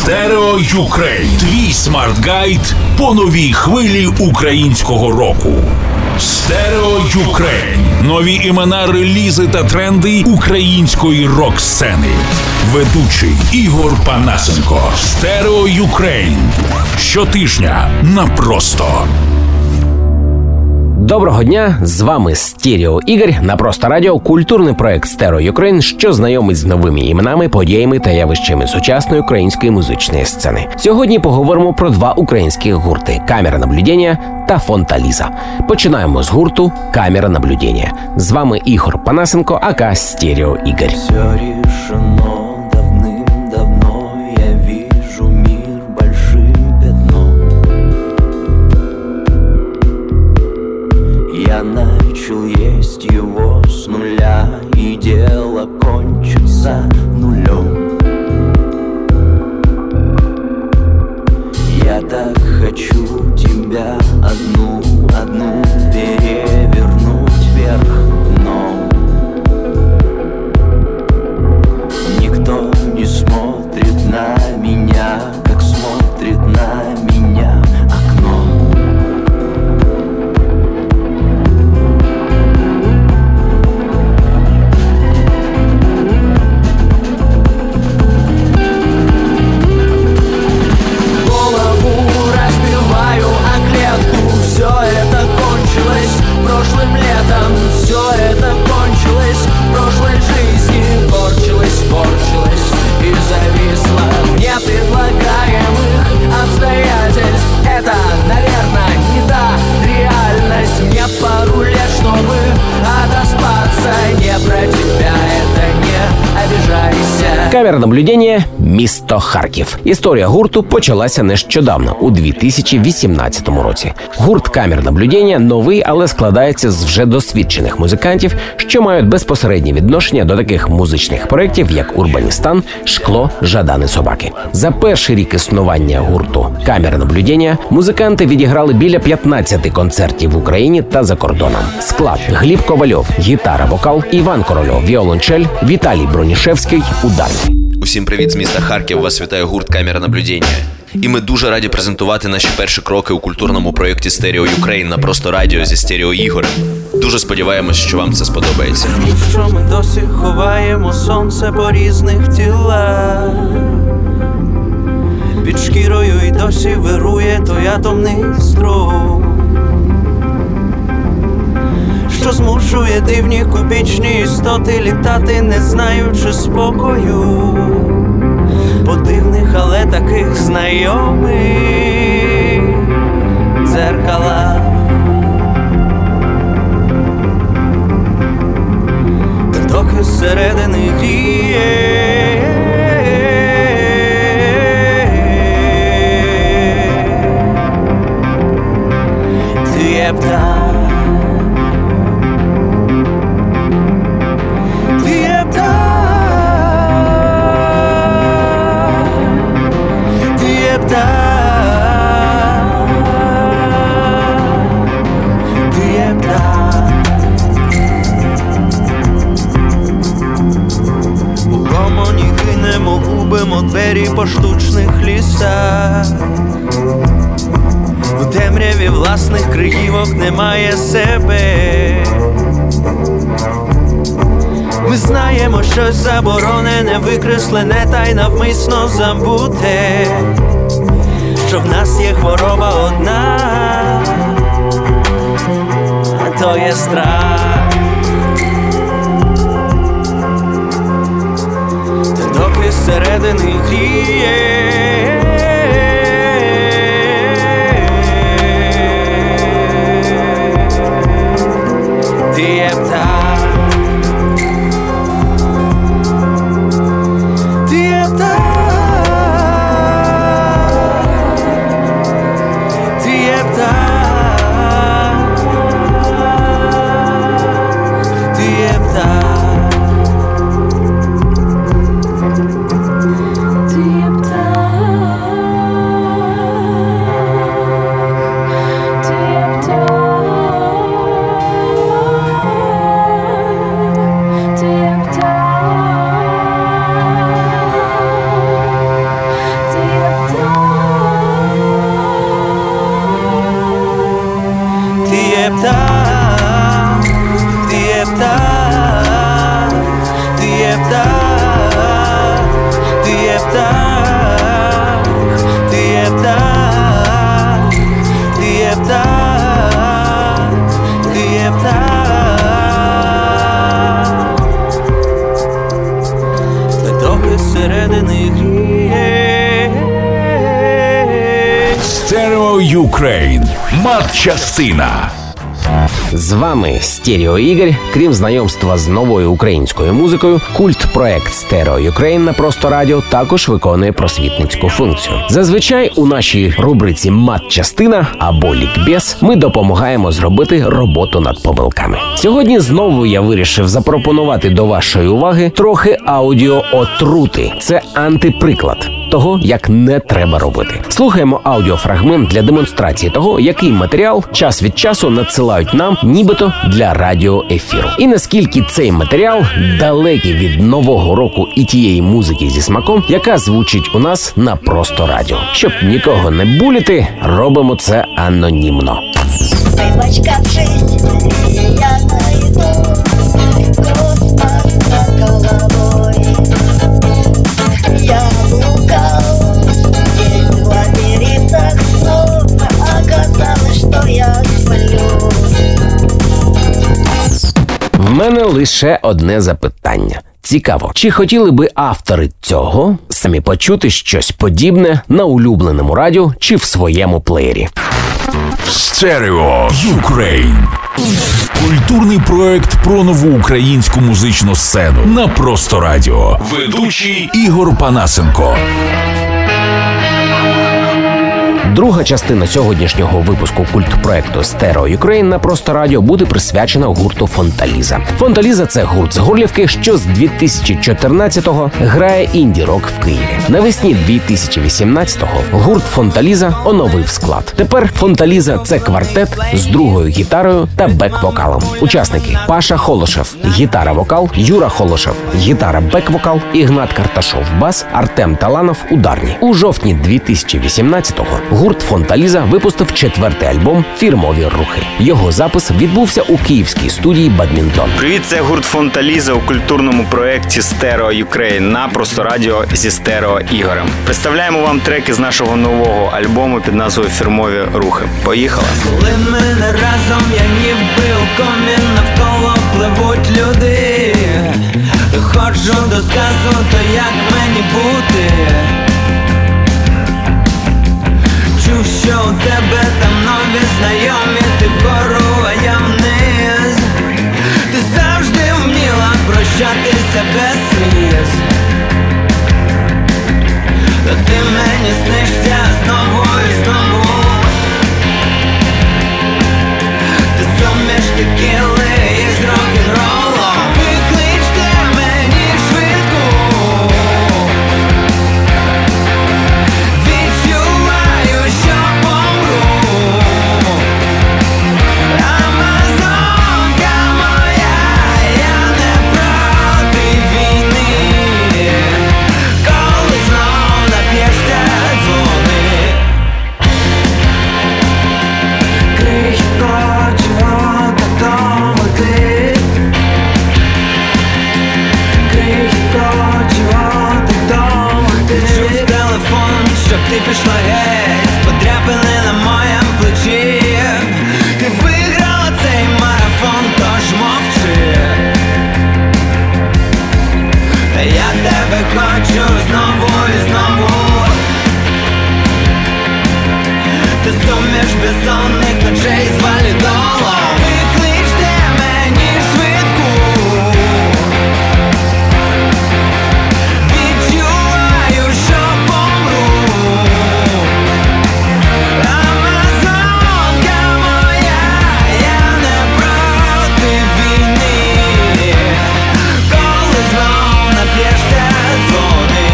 Стерео Юкрейн. Твій смарт-гайд по новій хвилі українського року. Стерео Юкрейн. Нові імена, релізи та тренди української рок-сцени. Ведучий Ігор Панасенко. Стерео Юкрейн. Щотижня на Просто. Доброго дня, з вами Стерео Ігор на Просто Радіо, культурний проект Стерео Юкрейн, що знайомить з новими іменами, подіями та явищами сучасної української музичної сцени. Сьогодні поговоримо про два українських гурти – «Камера наблюдення» та «Фонта Ліза». Починаємо з гурту «Камера наблюдення». З вами Ігор Панасенко, ака Стерео Ігор. Я начал есть его с нуля, и дело кончится нулем. Я так хочу тебя одну перевернуть вверх дном. Никто не смотрит на меня, как смотрит на меня окно. Прошлым летом все это кончилось, в прошлой жизни корчилось и зависло в непредлагаемых обстоятельств. Это, наверное, не та реальность. Мне пару лет, чтобы отоспаться. Не про тебя, это не обижайся. «Камера наблюдення» – місто Харків. Історія гурту почалася нещодавно, у 2018 році. Гурт «Камера наблюдення» новий, але складається з вже досвідчених музикантів, що мають безпосереднє відношення до таких музичних проєктів, як «Урбаністан», «Шкло», «Жадани собаки». За перший рік існування гурту «Камера наблюдення» музиканти відіграли біля 15 концертів в Україні та за кордоном. Склад: Гліб Ковальов – гітара, вокал, Іван Корольов – віолончель, Віталій Бронішевський – ударний. Усім привіт з міста Харків, вас вітає гурт «Камера наблюдення». І ми дуже раді презентувати наші перші кроки у культурному проєкті «Стерео Юкрейн» на Просто Радіо зі Стерео Ігорем. Дуже сподіваємось, що вам це сподобається. Що ми досі ховаємо сонце по різних тілах. Під шкірою й досі вирує той атомний струм, що змушує дивні кубічні істоти літати, не знаючи спокою. По дивних, але таких знайомих дзеркалах. Та доки зсередини гріє ти є птах. Губимо двері по штучних лісах. У темряві власних криївок немає себе. Ми знаємо щось заборонене, викреслене та й навмисно забуте, що в нас є хвороба одна, а то є страх. Доки зсередини гріє ти є птах. Ти є птах. Ти є птах. Ти є птах. зсередини гріє. Стерео Юкрейн. Матчастина. З вами Стерео Ігор. Крім знайомства з новою українською музикою, культ-проект Стерео Юкрейн на Просто Радіо також виконує просвітницьку функцію. Зазвичай у нашій рубриці «Матчастина» або «Лікбез» ми допомагаємо зробити роботу над помилками. Сьогодні знову я вирішив запропонувати до вашої уваги трохи аудіоотрути. Це антиприклад того, як не треба робити. Слухаємо аудіофрагмент для демонстрації того, який матеріал час від часу надсилають нам нібито для радіоефіру. І наскільки цей матеріал далекий від нового року і тієї музики зі смаком, яка звучить у нас на Просто Радіо. Щоб нікого не буліти, робимо це анонімно. Вибачкавшись, я найду космос над головой. Я блукал здесь в лабиринтах снов, оказалось, что я сплю. В мене лише одне запитання. Цікаво, чи хотіли би автори цього самі почути щось подібне на улюбленому радіо чи в своєму плеєрі? Стерео Юкрейн. Культурний проект про нову українську музичну сцену на Просто Радіо. Ведучий Ігор Панасенко. Друга частина сьогоднішнього випуску культпроекту «Стерео Юкрейн» на Просто Радіо буде присвячена гурту «Фонталіза». «Фонталіза» – це гурт з Горлівки, що з 2014-го грає інді-рок в Києві. Навесні 2018-го гурт «Фонталіза» оновив склад. Тепер «Фонталіза» – це квартет з другою гітарою та бек-вокалом. Учасники – Паша Холошев – гітара-вокал, Юра Холошев – гітара-бек-вокал, Ігнат Карташов – бас, Артем Таланов – ударні. У жовтні 2018-го гурт «Фонталіза» випустив 4-й альбом «Фірмові рухи». Його запис відбувся у київській студії «Бадмінтон». Привіт, це гурт «Фонталіза» у культурному проєкті «Стерео Юкрейн» на Просто Радіо зі Стерео Ігорем. Представляємо вам треки з нашого нового альбому під назвою «Фірмові рухи». Поїхали! Коли ми не разом, я ніби у комі, навколо пливуть люди. Доходжу до сказу, то як мені бути? Чув, що у тебе там нові знайомі, ти вгору, а я вниз. Ти завжди вміла прощатися без сліз. Та ти мені снишся знову і знову. Ти суміш текіли із рок-н-ролом. Викличте мені швидку. Відчуваю, що помру. Амазонка моя, я не проти війни. Коли знов нап'єшся, дзвони. Крихітко, чого так довго ти? Крихітко, чого так довго ти? Чув телефон, щоб ти пішла геть, подряпини на моєм плечі. Ти виграла цей марафон, тож мовчи. Та я тебе хочу знову і знову. Ти суміш безсонних ночей з валідолом. Викличте мені швидку. Відчуваю, що помру. Амазонка моя, я не проти війни. Коли знов нап'єшся, дзвони.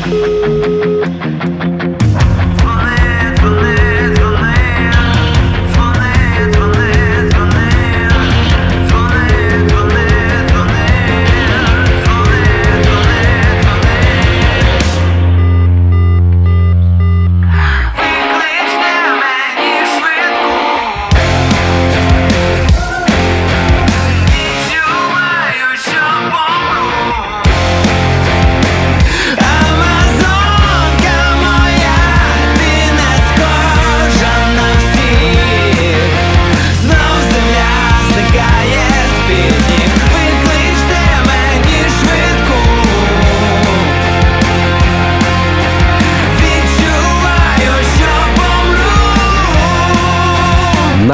Дзвони, дзвони, дзвони.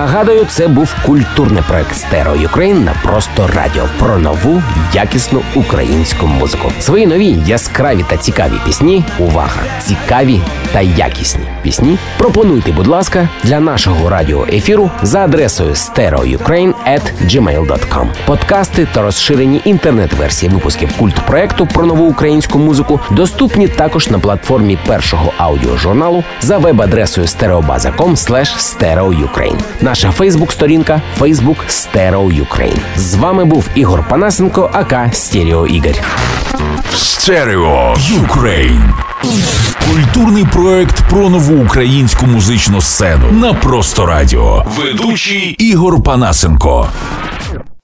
Нагадую, це був культурний проект Стерео Юкрейн на Просто Радіо про нову, якісну українську музику. Свої нові, яскраві та цікаві пісні, увага, цікаві та якісні пісні пропонуйте, будь ласка, для нашого радіоефіру за адресою stereoukraine@gmail.com. Подкасти та розширені інтернет-версії випусків культпроекту про нову українську музику доступні також на платформі першого аудіожурналу за веб-адресою stereobaza.com/stereoukraine. Наша фейсбук-сторінка Facebook Stereo Ukraine. З вами був Ігор Панасенко, ака Стерео Ігор. Стерео Юкрейн. Культурний проект про нову українську музичну сцену на Просто Радіо. Ведучий Ігор Панасенко.